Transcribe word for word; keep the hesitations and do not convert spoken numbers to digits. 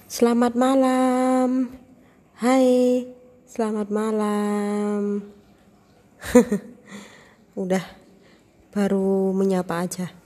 Selamat malam. Hai, selamat malam. Udah baru menyapa aja.